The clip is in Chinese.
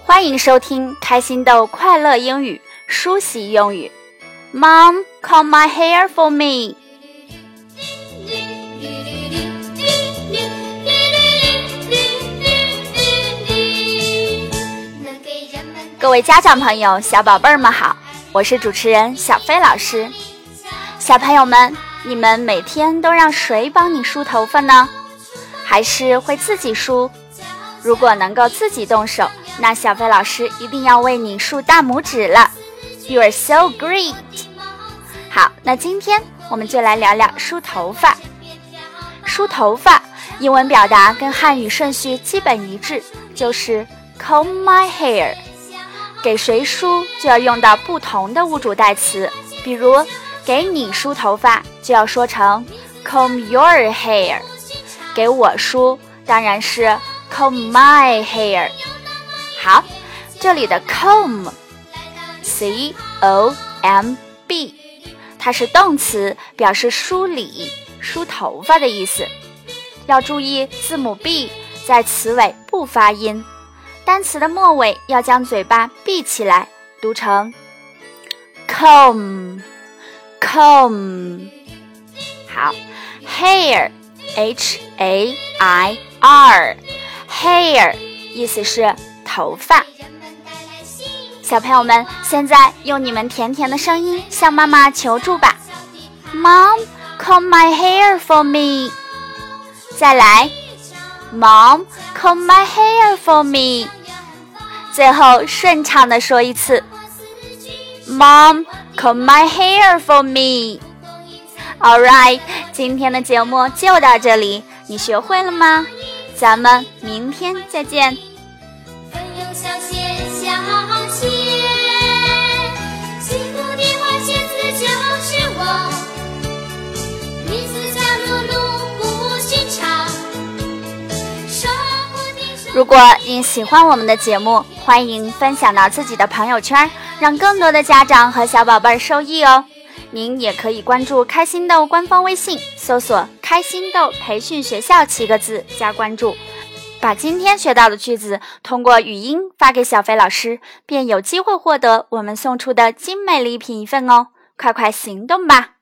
欢迎收听开心豆快乐英语梳洗用语。Mom, comb my hair for me. 各位家长朋友、小宝贝儿们好，我是主持人小飞老师。小朋友们，你们每天都让谁帮你梳头发呢？还是会自己梳？如果能够自己动手，那小飞老师一定要为你竖大拇指了。You are so great! 好，那今天我们就来聊聊梳头发。梳头发，英文表达跟汉语顺序基本一致，就是 comb my hair。给谁梳就要用到不同的物主代词，比如给你梳头发就要说成 comb your hair， 给我梳当然是 comb my hair。 好，这里的 comb C-O-M-B 它是动词，表示梳理、梳头发的意思。要注意字母 B 在词尾不发音，单词的末尾要将嘴巴闭起来，读成 comb。 好， hair H-A-I-R hair 意思是头发。小朋友们，现在用你们甜甜的声音向妈妈求助吧。 Mom, comb my hair for me。 再来 Mom, comb my hair for me。 最后顺畅地说一次 Mom, comb my hair for me。 Alright， 今天的节目就到这里，你学会了吗？咱们明天再见。 分忧小线小线，幸福的花仙子就是我，名字叫露露不寻常。 如果您喜欢我们的节目，欢迎分享到自己的朋友圈，让更多的家长和小宝贝受益哦。您也可以关注开心豆官方微信，搜索开心豆培训学校7个字加关注，把今天学到的句子通过语音发给小飞老师，便有机会获得我们送出的精美礼品一份哦，快快行动吧。